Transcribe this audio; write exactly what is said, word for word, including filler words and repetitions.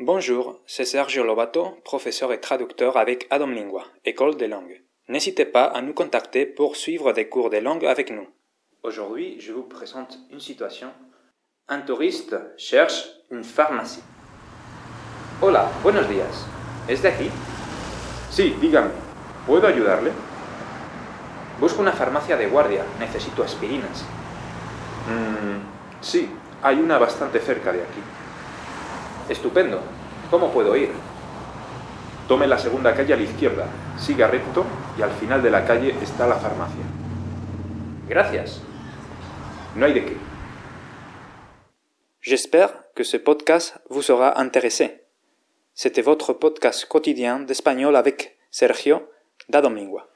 Bonjour, c'est Sergio Lobato, professeur et traducteur avec Adam Lingua, école des langues. N'hésitez pas à nous contacter pour suivre des cours de langue avec nous. Aujourd'hui, je vous présente une situation. Un touriste cherche une pharmacie. Hola, buenos días. ¿Es de aquí? Sí, dígame. ¿Puedo ayudarle? Busco una farmacia de guardia. Necesito aspirinas. Mm, sí, hay una bastante cerca de aquí. Estupendo. ¿Cómo puedo ir? Tome la segunda calle a la izquierda, siga recto y al final de la calle está la farmacia. Gracias. No hay de qué. J'espère que ce podcast vous sera intéressé. C'était votre podcast quotidien d'espagnol avec Sergio d'Adam Lingua.